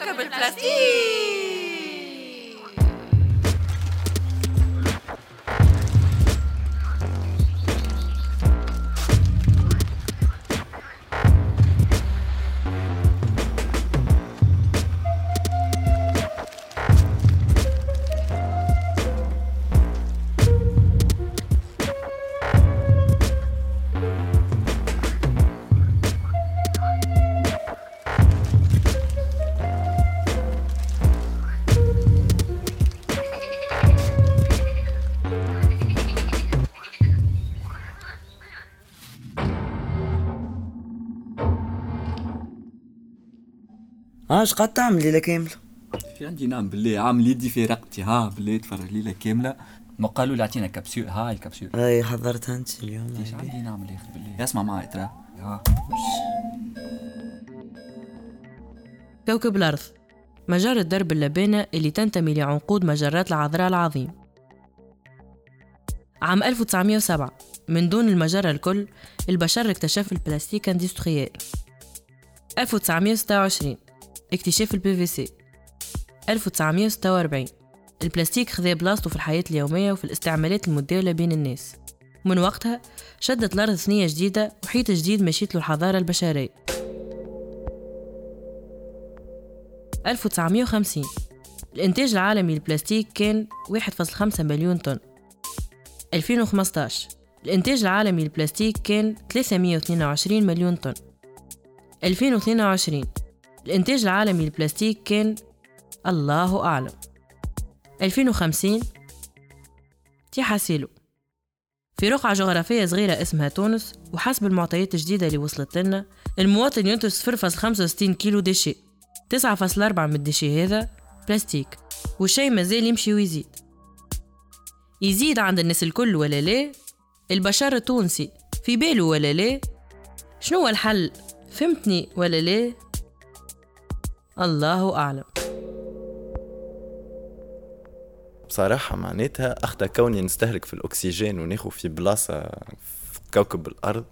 كوكب البلاستيك. اش قاعد تعمل ليلة كاملة؟ في عندي نعم بالله عامل يدي في رقبتي بالله تفرج ليلة كاملة. ما قالوا لي اعطينا كبسول هاي الكبسول اي حضرتها انت اليوم. ايش عندي نعمل يا اخي بالله اسمع معي ترى كوكب الأرض مجرة درب اللبانة اللي تنتمي لعنقود مجرات العذراء العظيم. عام 1907 من دون المجرة الكل البشر اكتشف البلاستيك اندستريال. 1926 اكتشاف البي في سي. 1946 البلاستيك خذا بلاصته في الحياة اليومية وفي الاستعمالات المتداولة بين الناس. من وقتها شدت الأرض ثنية جديدة وحيط جديد مشيت له الحضارة البشرية. 1950 الإنتاج العالمي للبلاستيك كان 1.5 مليون طن. 2015 الإنتاج العالمي للبلاستيك كان 322 مليون طن. 2022 الإنتاج العالمي للبلاستيك كان الله أعلم. 2050 تيحاسيلو في رقعة جغرافية صغيرة اسمها تونس، وحسب المعطيات الجديدة اللي وصلت لنا المواطن ينتج 0.65 كيلو ديشي. 9.4 من الديشي هذا بلاستيك، والشي مازال يمشي ويزيد. يزيد عند الناس الكل ولا لا؟ البشر التونسي في باله ولا لا؟ شنو الحل؟ فهمتني ولا لا؟ الله أعلم. بصراحة معناتها أخذ كوني نستهلك في الأكسجين وناخو في بلاصة في كوكب الأرض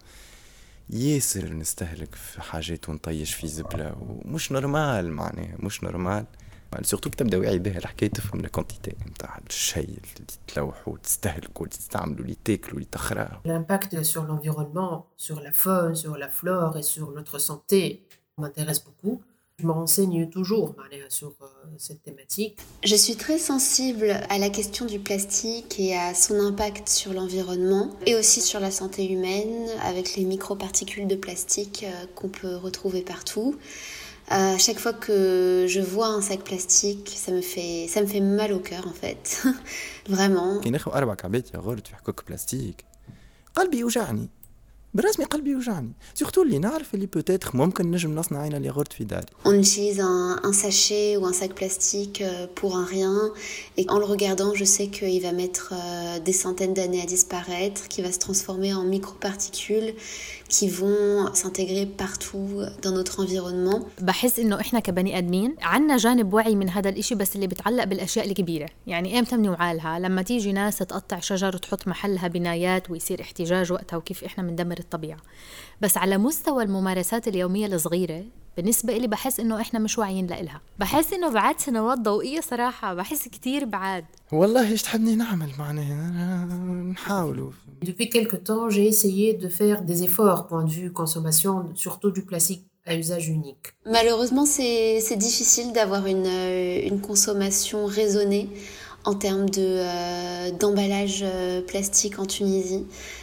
ياسر نستهلك في حاجات ونطيش في زبلة ومش نورمال. معناها مش نورمال سورتو كتبدا واعي بها الحكاية تفهم الكونتيتي نتاع الشيء اللي تلوحوا وتستهلكوا وتستعملوا اللي تاكلوا اللي تخراه. L'impact sur l'environnement, sur la faune, sur la flore et sur notre santé m'intéresse beaucoup. Je me renseigne toujours sur cette thématique. Je suis très sensible à la question du plastique et à son impact sur l'environnement et aussi sur la santé humaine avec les microparticules de plastique qu'on peut retrouver partout. Chaque fois que je vois un sac plastique, ça me fait mal au cœur en fait. Vraiment. كي ناخذ 4 كعبات يا غورت في حكوك بلاستيك قلبي يوجعني برسمي قلبي يوجعني سورتو اللي نعرف اللي بوتيتر ممكن نجم نصنع عين اللي غورت في داري. On utilise un sachet ou un sac plastique pour un rien et en le regardant je sais qu'il va mettre des centaines d'années à disparaître, qu'il va se transformer en microparticules qui vont s'intégrer partout dans notre environnement. بحس إنه إحنا كبني آدمين عنا جانب وعي من هذا الإشي بس اللي بتعلق بالأشياء الكبيرة. يعني إمتى بنوعالها؟ لما تيجي ناس تقطع شجر وتحط محلها بنايات ويصير احتجاج وقتها وكيف إحنا مندمر الطبيعة. بس على مستوى الممارسات اليومية الصغيرة بالنسبة إلي بحس إنه إحنا مش واعيين لإلها. بحس إنه بعد سنوات ضوئية صراحة بحس كتير بعد. والله إيش تحبني نعمل معناها نحاولوا. Depuis quelque temps, j'ai essayé de faire des efforts point de vue consommation, surtout du plastique à usage unique. Malheureusement, c'est difficile d'avoir une consommation raisonnée en termes d'emballage plastique en Tunisie.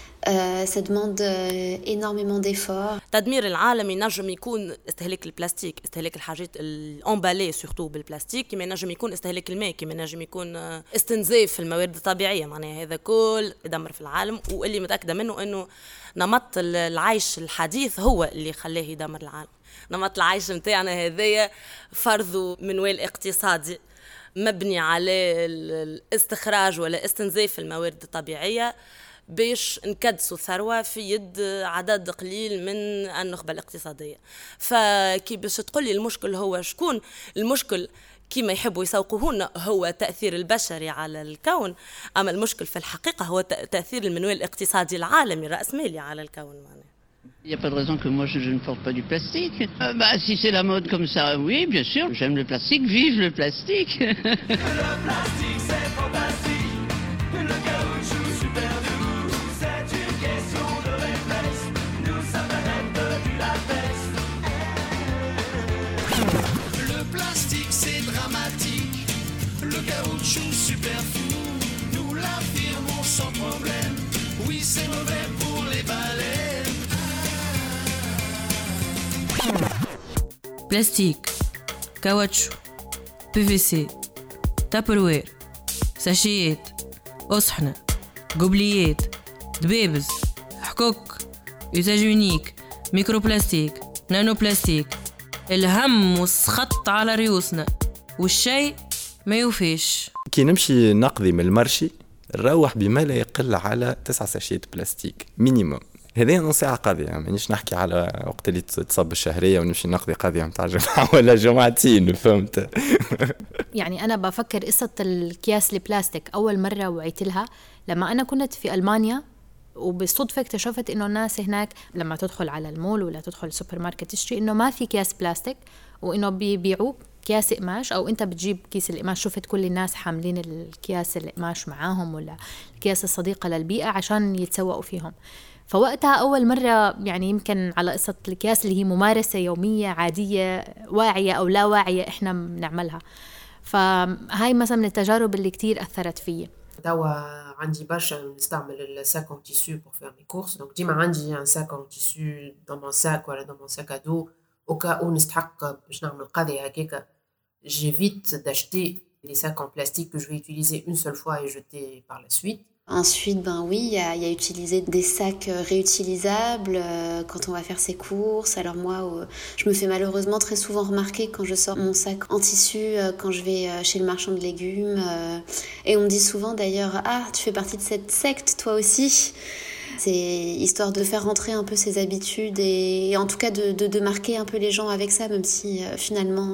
Ça demande énormément d'efforts. تدمير العالم ينجم يكون استهلاك البلاستيك، استهلاك الحاجات الأمبالي سورتو بالبلاستيك، كما ينجم يكون استهلاك الماء، كما ينجم يكون استنزاف الموارد الطبيعية. معناها هذا كل يدمر في العالم، واللي متأكدة منه أنه نمط العيش الحديث هو اللي خلاه يدمر العالم. نمط العيش متاعنا هذايا فرض منوال اقتصادي مبني على الاستخراج ولا استنزاف الموارد الطبيعية باش نكدسوا ثروة في يد عدد قليل من النخبة الاقتصادية. فكي باش تقولي المشكل هو شكون المشكل كما يحبوا يسوقوهن هو تأثير البشري على الكون، أما المشكل في الحقيقة هو تأثير المنوال الاقتصادي العالمي الرأسمالي على الكون. Il n'y a pas de raison que moi je ne porte pas du plastique. Si c'est la mode comme ça, oui, bien sûr, j'aime le plastique, vive le plastique. Le plastique c'est fantastique, le caoutchouc super doux, c'est une question de réflexe, nous sommes la reine du latex. Le plastique c'est dramatique, le caoutchouc super fou, nous l'affirmons sans problème, oui c'est mauvais pour les baleines. بلاستيك، كاوتشو، PVC، تابروير، ساشيات، أصحنة، قبليات، دبابز، حكوك، يوزاج يونيك، ميكرو بلاستيك، نانو بلاستيك، الهم والسخط على ريوسنا والشيء ما يوفيش. كي نمشي نقضي من المرشي نروح بما لا يقل على 9 ساشيات بلاستيك مينيموم. هذه نص ساعة قضية، مانيش نحكي على وقت اللي تصب الشهرية ونمشي نقضي قضية متاع جمعة ولا جمعتين، فهمت؟ يعني أنا بفكر قصة الأكياس البلاستيك أول مرة وعيت لها لما أنا كنت في ألمانيا، وبالصدفة اكتشفت إنه الناس هناك لما تدخل على المول ولا تدخل السوبر ماركت تشتري إنه ما في أكياس بلاستيك، وإنه بيبيعوا أكياس قماش، أو أنت بتجيب كيس القماش. شفت كل الناس حاملين الأكياس القماش معاهم ولا الأكياس الصديقة للبيئة عشان يتسوقوا فيهم. فوقتها أول مرة يعني يمكن على قصة الأكياس اللي هي ممارسة يومية عادية واعية أو لا واعية إحنا بنعملها. فهاي مثلا من التجارب اللي كتير أثرت فيي. توا عندي برشا نستعمل الساك en tissu pour faire mes courses، donc ديما عندي un sac en tissu dans mon sac ولا dans mon sac à dos au cas où نستحق باش نعمل قضية هكاكا. J'évite d'acheter des sacs en plastique que je vais utiliser une seule fois et jeter par la suite. Ensuite, oui, il y a utiliser des sacs réutilisables quand on va faire ses courses. Alors moi, je me fais malheureusement très souvent remarquer quand je sors mon sac en tissu, quand je vais chez le marchand de légumes. Et on me dit souvent d'ailleurs, ah, tu fais partie de cette secte toi aussi. C'est histoire de faire rentrer un peu ses habitudes et en tout cas de marquer un peu les gens avec ça, même si finalement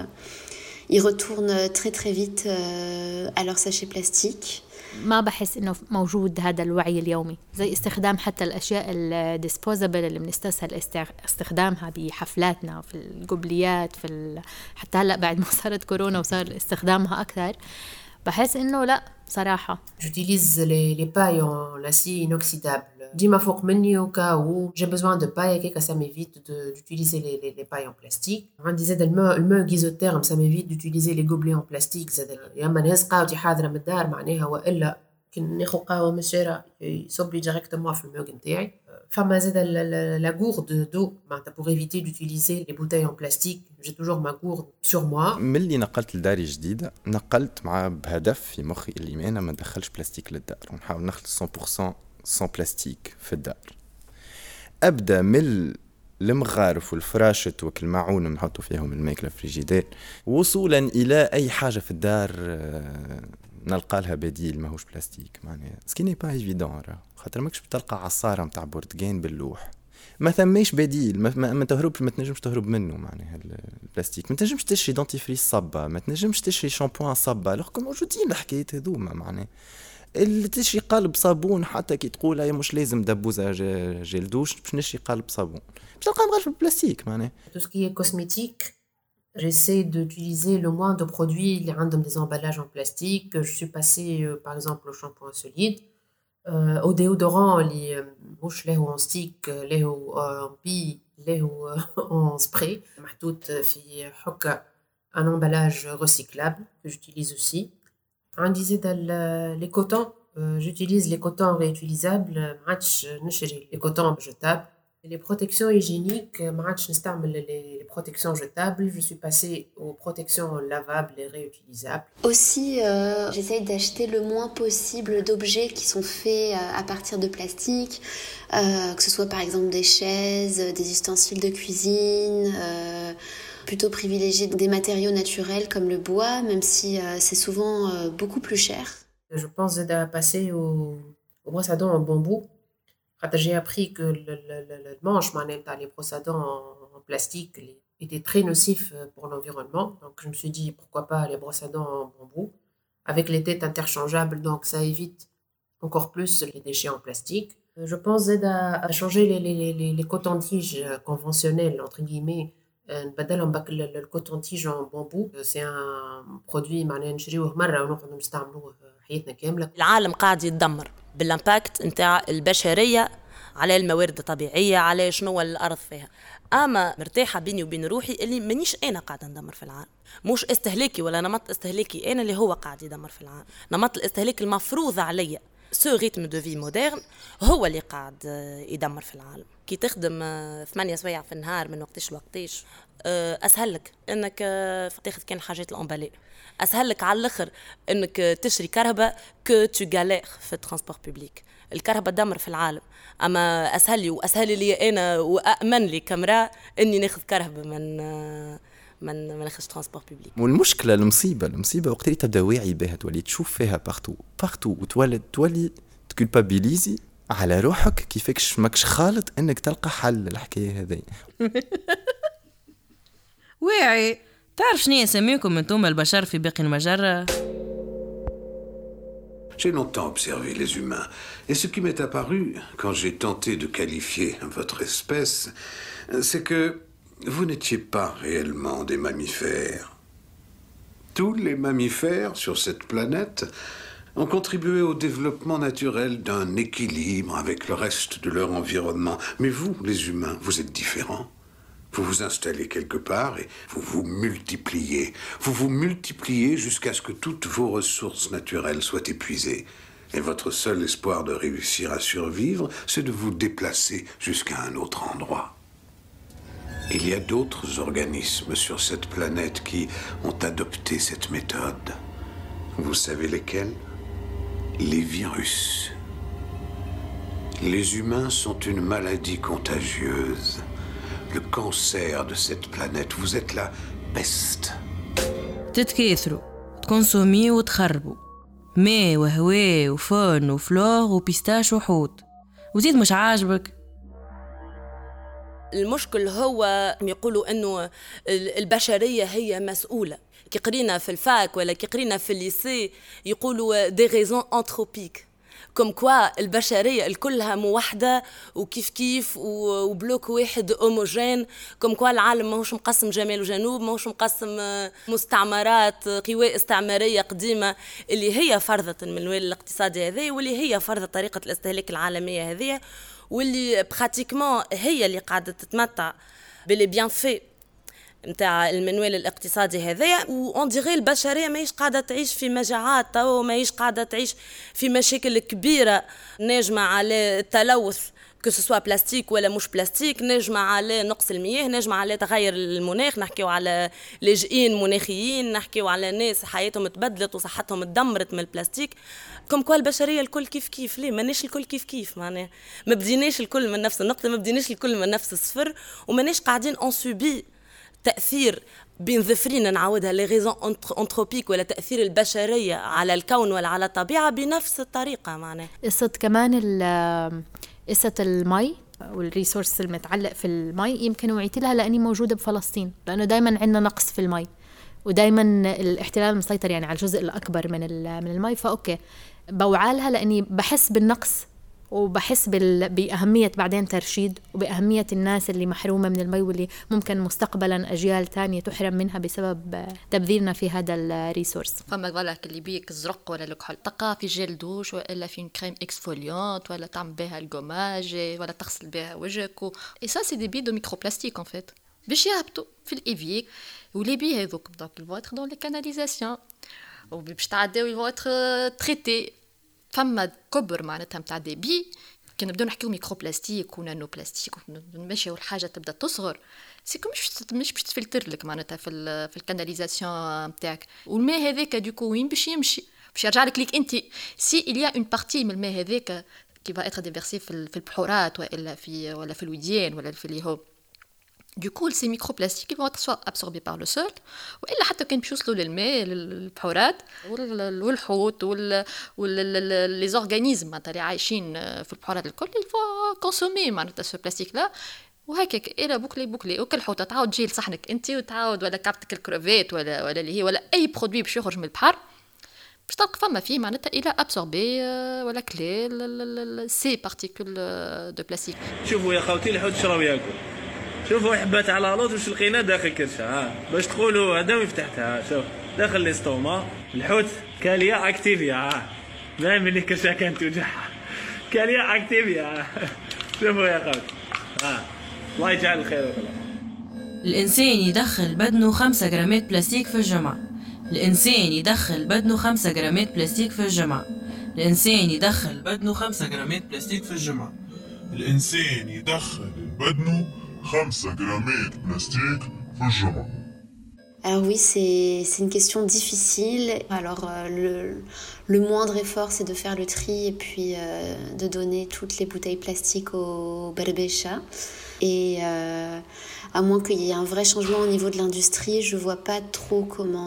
ils retournent très très vite à leur sachet plastique. ما بحس إنه موجود هذا الوعي اليومي، زي استخدام حتى الأشياء الديسبوزابل اللي بنستسهل استخدامها بحفلاتنا في القبليات حتى هلأ بعد ما صارت كورونا وصار استخدامها أكثر. بحس إنه لا صراحة. J'utilise les pailles en acier inoxydable. ديما فوق مني au cas où j'ai besoin de paille هكاكا ça m'évite d'utiliser les pailles en plastique. عندي زاد الماء isotherme ça m'évite d'utiliser les gobelets en plastique. زاد يا اما نهز قهوتي حاضرة من الدار معناها، والا كي ناخذ قهوة من الشارع يصب لي ديريكتومون في الماء نتاعي. فما زاد la gourde d'eau معناتها pour éviter d'utiliser les bouteilles en plastique. J'ai toujours ma gourde sur moi. من اللي نقلت لداري جديدة نقلت مع بهدف في مخي اللي أنا ما ندخلش بلاستيك للدار ونحاول نخلص 100% sans بلاستيك في الدار. أبدأ من المغارف والفراشة والمعون نحطوا فيهم الماكلة فريجيدير، وصولا إلى أي حاجة في الدار نلقى لها بديل ماهوش بلاستيك. معناها سكيني با ايفيدون، خاطر ماكش بتلقى عصارة متاع بورتغان باللوح، ما ثماش بديل، ما تهربش، ما تنجمش تهرب منه. معناها البلاستيك ما تنجمش تشري دونتيفريس صبة، ما تنجمش تشري شامبوان صبة، لكن موجودين الحكايات هذوما. معناها اللي تشري قالب صابون حتى كي تقول هي مش لازم دبوزة جيل دوش باش نشري قالب صابون باش تلقى مغرف بالبلاستيك. معناها tout ce qui est cosmétique, j'essaie d'utiliser le moins de produits اللي عندهم des emballages en plastique. Je suis passée par exemple au shampoing solide, au déodorant اللي مش له en stick له en pille له en spray محطوط في حكة un emballage recyclable que j'utilise aussi. عندي زاد les cotons, j'utilise les cotons réutilisables. ما عادش نشري les cotons jetables. Les protections hygiéniques, ما عادش نستعمل les protections jetables. Je suis passée aux protections lavables et réutilisables. Aussi, j'essaye d'acheter le moins possible d'objets qui sont faits à partir de plastique, que ce soit par exemple des chaises, des ustensiles de cuisine, plutôt privilégier des matériaux naturels comme le bois, même si c'est souvent beaucoup plus cher. Je pense à passer aux brosses à dents en bambou. J'ai appris que le manche les brosses à dents en plastique était très nocif pour l'environnement. Donc je me suis dit pourquoi pas les brosses à dents en bambou avec les têtes interchangeables, donc ça évite encore plus les déchets en plastique. Je pense à changer les cotons-tiges conventionnels, entre guillemets. نبدلهم الكوتون-tige en bambou. C'est un produit معناه نشريوه مرة ونقعدوا نستعملوه حياتنا كاملة. العالم قاعد يتدمر بالامباكت نتاع البشرية على الموارد الطبيعية، على شنو الأرض فيها. أما مرتاحة بيني وبين روحي اللي منيش أنا قاعدة ندمر في العالم، مش استهلاكي ولا نمط استهلاكي أنا اللي هو قاعد يدمر في العالم. نمط الاستهلاك المفروض عليا سو ريتم دو في مودرن هو اللي قاعد يدمر في العالم. كي تخدم 8 سوايع في النهار من وقتاش لوقتاش أسهل لك أنك تاخذ كان حاجات الأمبالي، أسهل لك على الآخر أنك تشري كهرباء كو تو غالير في الترانسبور بوبليك. الكهرباء دمر في العالم، أما أسهل لي أنا وأأمن لي كاميرا أني ناخذ كهرباء من ناخذ ترانسبور بوبليك. والمشكلة المصيبة وقت اللي تبدا واعي بها تولي تشوف فيها بارتو وتولي تكولبابيليزي على روحك كيفكش ماكش خالط انك تلقى حل للحكاية هذه. واعي تعرف شنو يسميكم انتم البشر في باقي المجرة؟ J'ai longtemps observé les humains, et ce qui m'est apparu quand j'ai tenté de qualifier votre espèce, c'est que vous n'étiez pas réellement des mammifères. Tous les mammifères sur cette planète ont contribué au développement naturel d'un équilibre avec le reste de leur environnement. Mais vous, les humains, vous êtes différents. Vous vous installez quelque part et vous vous multipliez. Vous vous multipliez jusqu'à ce que toutes vos ressources naturelles soient épuisées. Et votre seul espoir de réussir à survivre, c'est de vous déplacer jusqu'à un autre endroit. Il y a d'autres organismes sur cette planète qui ont adopté cette méthode. Vous savez lesquels ? Les virus. Les humains sont une maladie contagieuse. Le cancer de cette planète, vous êtes la peste. تتكاثروا تكونسوميوا وتخربوا ماء وهواء وفن وفلور وبيستاش وحوت وزيد مش عاجبك. المشكل هو يقولوا انه البشريه هي مسؤوله. كي قرينا في الفاك ولا كي قرينا في الليسي يقولوا دي ريزون انتروبيك، كم كوا البشريه الكلها موحده وكيف كيف وبلوك واحد هوموجين، كم كوا العالم ماهوش مقسم جمال وجنوب، ماهوش مقسم مستعمرات قوى استعماريه قديمه اللي هي فرضت المنوال الاقتصادي هذا واللي هي فرضت طريقه الاستهلاك العالميه هذه واللي براتيكمون هي اللي قاعده تتمتع باللي بيان في نتاع المنوال الاقتصادي هذايا. وأون ديغي البشريه ماهيش قاعده تعيش في مجاعات او ماهيش قاعده تعيش في مشاكل كبيره ناجمه على التلوث كو سوا بلاستيك ولا مش بلاستيك، ناجمه على نقص المياه، ناجمه على تغير المناخ، نحكيو على لاجئين مناخيين، نحكيو على ناس حياتهم تبدلت وصحتهم تدمرت من البلاستيك. كم كل البشريه الكل كيف كيف، ليه ماناش الكل كيف كيف؟ معناها ما بديناش الكل من نفس النقطه، ما بديناش الكل من نفس الصفر، وماناش قاعدين اون سوبي تأثير بين ظفرين نعودها لي ريزون انتروبيك ولا تأثير البشرية على الكون ولا على الطبيعة بنفس الطريقة. معناه قصة كمان قصة المي والريسورس المتعلق في المي يمكن وعيت لها لأني موجودة بفلسطين، لأنه دايما عندنا نقص في المي ودايما الاحتلال مسيطر يعني على الجزء الأكبر من المي، فأوكي بوعالها لأني بحس بالنقص وبحس بأهمية بعدين ترشيد وبأهمية الناس اللي محرومة من المي واللي ممكن مستقبلا أجيال تانية تحرم منها بسبب تبذيرنا في هذا الريسورس. فما بالك اللي بيك الزرق ولا الكحول تقى في جيل دوش ولا في كريم اكسفوليونت ولا تعمل بها الجوماج ولا تغسل بها وجهك et ça c'est des billes de microplastique en fait باش يهبطوا في الإيفيك ولي بي هذوك donc ils vont être dans les canalisations وباش تعداو ils vont être traités. فما كبر معناتها متاع دي بي كنا نبداو نحكيو ميكروبلاستيك ونانو بلاستيك ونمشيو الحاجه تبدا تصغر سيكو مش باش تفلتر لك معناتها في الكاناليزاسيون نتاعك والماء هذاك دوكو وين باش يمشي باش يرجع لك ليك انت سي اليا اون بارتي من الماء هذاك كي فا اتر ديفيرسي في البحورات ولا في الوديان ولا في اللي هو Du coup, ces microplastiques vont être soit absorbés par le sol, ou حتى كان بيوصلوا للماء للبحورات والحوت les organismes اللي عايشين في البحورات الكل ils vont consommer معناتها ce plastique là وهكاك إلى بوكلي وكل حوتة تعاود تجي لصحنك أنت وتعاود ولا كابتك الكروفيت ولا اللي هي ولا أي برودوي باش يخرج من البحر باش تلقى فما فيه معناتها الى ابسوربي ولا كلي سي بارتيكول دو بلاستيك. شوفوا يا خوتي الحوت شراو ياكل، شوفوا حبات على لوط واش لقينا داخل كرشه باش تقولوا هذا وين فتحتها. شوف داخل ليستوما الحوت كاليا اكتيفيا ما ملي كرشه كانت توجعها كاليا اكتيفيا. شوفوا يا خوتي الله يجعل الخير والله. الإنسان يدخل بدنه 5 جرامات بلاستيك في الجمعة. الإنسان يدخل بدنه 5 جرامات بلاستيك في الجمعة. الإنسان يدخل بدنه 5 جرامات بلاستيك في الجمعة. الإنسان يدخل بدنه 5 جرامات بلاستيك في الجمعة. Alors oui, c'est une question difficile. Alors le moindre effort, c'est de faire le tri et puis de donner toutes les bouteilles plastiques au berbécha. Et à moins qu'il y ait un vrai changement au niveau de l'industrie, je vois pas trop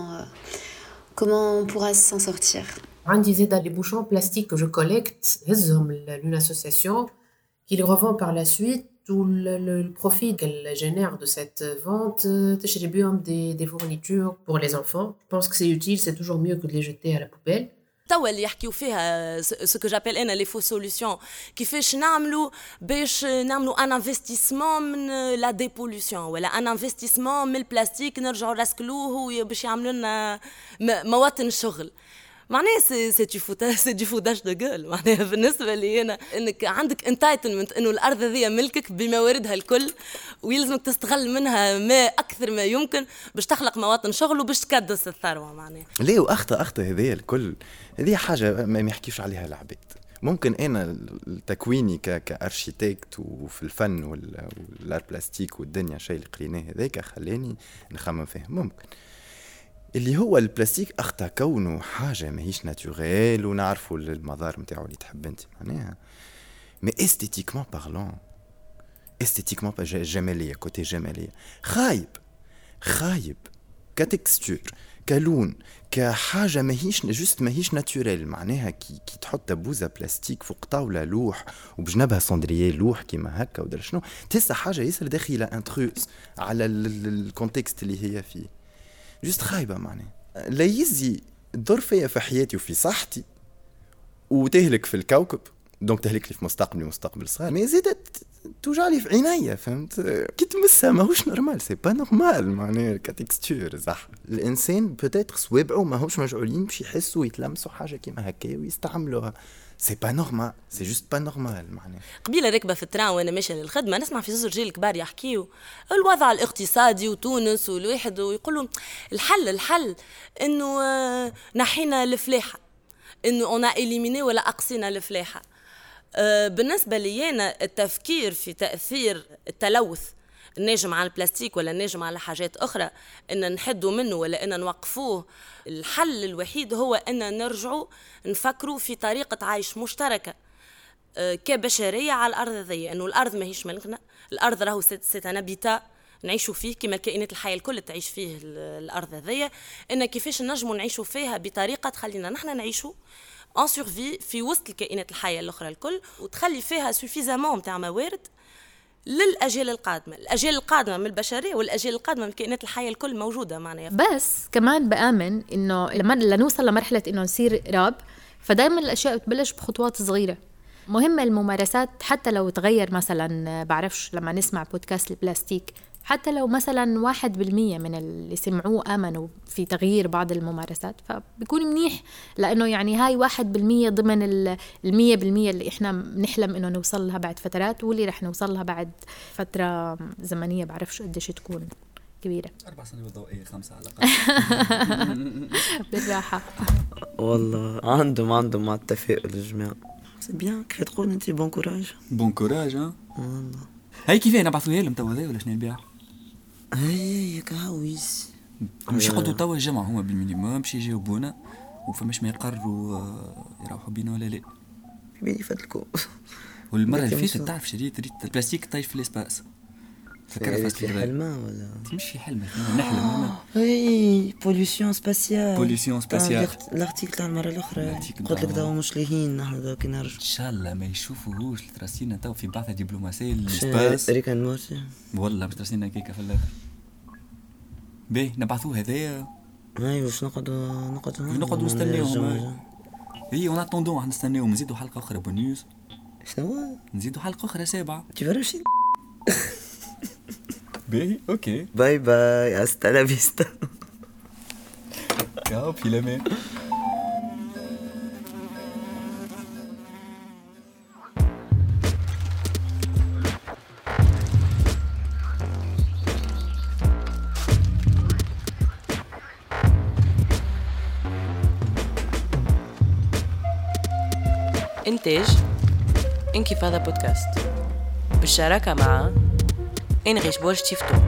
comment on pourra s'en sortir. عندي زاد les bouchons plastiques que je collecte, هزهم l'une association qui les revend par la suite. Tout le profit qu'elle génère de cette vente, تشري بيهم des fournitures pour les enfants. Je pense que c'est utile, c'est toujours mieux que de les jeter à la poubelle. توا اللي يحكيو فيها ce que j'appelle انا les faux solutions كيفاش نعملوا باش نعملوا ان انفستيسمون من لا ديبولوسيون ولا ان انفستيسمون من البلاستيك نرجعوا نرسكلوه باش يعملوا لنا مواطن شغل. معناها سي دي فوداج دو جول. معناها بالنسبه لي انا انك عندك انتايتلمنت انه الارض هذه ملكك بمواردها الكل ويلزمك تستغل منها ما اكثر ما يمكن باش تخلق مواطن شغل وباش تكدس الثروه. معناها ليه واخطا هذه الكل هذه حاجه ما يحكيوش عليها العباد. ممكن انا تكويني كارشيتكت وفي الفن والار بلاستيك والدنيا شيء اللي قريناه هذاك خلاني نخمم فيه. ممكن اللي هو البلاستيك أخطأ كونه حاجة ماهيش ناتوريل ونعرفوا المضار متاعو اللي تحب انت معناها. مي استيتيكمون بارلون استيتيكمون جمالية كوتي جمالية خايب كتكستور كلون كحاجة ماهيش ناتوريل. معناها كي تحط بوزة بلاستيك فوق طاولة لوح وبجنبها صندرية لوح كيما هكا ودر شنو تحس حاجة ياسر داخلة انتروس على الكونتكست اللي هي فيه. جست خايبة معناه لا يزي تضر فيا في حياتي وفي صحتي وتهلك في الكوكب دونك تهلك لي في مستقبل صغير. ما زادت توجعلي في عينيا فهمت كي تمسها ماهوش نورمال سي با نورمال معناه كتكستور صح. الانسان بوتيتر صوابعه ماهوش مجعولين باش يحسوا يتلمسوا حاجه كيما هكا ويستعملوها. سي با نورمال سي جوست با نورمال. معناه قبيله راكبه في التران وانا ماشيه للخدمه نسمع في زوج رجال كبار يحكيوا الوضع الاقتصادي وتونس والواحد ويقولوا الحل انه نحينا الفلاحه انه انا اليميني ولا اقصينا الفلاحه. بالنسبه لي انا التفكير في تاثير التلوث الناجم على البلاستيك ولا الناجم على حاجات أخرى إن نحدوا منه ولا إن نوقفوه. الحل الوحيد هو إن نرجعوا نفكروا في طريقة عيش مشتركة كبشرية على الأرض ذي. إنه الأرض ما هيش ملكنا، الأرض راهو سيتانابيتا نعيشوا فيه كما الكائنات الحية الكل تعيش فيه الأرض ذي. إن كيفاش نجموا نعيشوا فيها بطريقة تخلينا نحن نعيشوا en survie في وسط الكائنات الحية الأخرى الكل وتخلي فيها suffisamment متاع موارد للأجيال القادمة. الأجيال القادمة من البشرية والأجيال القادمة من الكائنات الحية الكل موجودة معنا. بس كمان بآمن إنه لما نوصل لمرحلة إنه نصير راب فدايما الأشياء بتبلش بخطوات صغيرة. مهمة الممارسات حتى لو تغير مثلا بعرفش لما نسمع بودكاست البلاستيك حتى لو مثلا 1% من اللي سمعوه آمنوا في تغيير بعض الممارسات فبيكون منيح لأنه يعني هاي 1% ضمن 100% اللي إحنا نحلم إنه نوصل لها بعد فترات واللي رح نوصل لها بعد فترة زمنية بعرفش قديش تكون كبيرة. 4 سنوات ضوئية 5 على الأقل. بالراحة. والله عندهم مع التفاؤل الجماعة. سي بيان كيف تقول أنت بون كوراج. بون كوراج والله. هاي كيفاه نبعثوها لهم توا ذي ولا شنو نبيع؟ هي كهويس مش يقعدوا توا الجمعة هما بالمينيموم باش يجاوبونا وفماش ما يقرروا يروحوا بينا ولا لا. بيني فاتلكم. والمرة اللي فاتت تعرف شريت البلاستيك طايش في الاسباس. فكرت في حلمة ولا؟ مش في حلمة نحلم. اي بوليسيون سباسيال. الارتيكل تاع المرة الأخرى قلت لك دوا مش لهين نحن دوا كي نرجع. إن شاء الله ما يشوفوهوش ترسينا توا في بعثة دبلوماسية للسباس. ريكان مورسي. والله باش ترسينا كيكة في الآخر. باهي نبعثوه هذايا ايوا واش نقعدوا نستناوهم. اي اون اتوندون نستناوهم نزيدوا حلقه اخرى بونيوس. شنو نزيدوا حلقه اخرى 7 تفرشي. باهي اوكي باي باي هستا لا فيستا. يا في الامان. إنتاج انكفاضة بودكاست بالشراكة مع إنغيش بورج تيفتوك.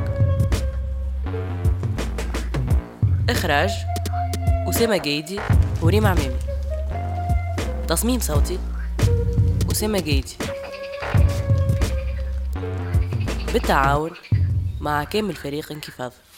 إخراج أسامة جايدي وريم عمامي. تصميم صوتي أسامة جايدي بالتعاون مع كامل فريق انكفاضة.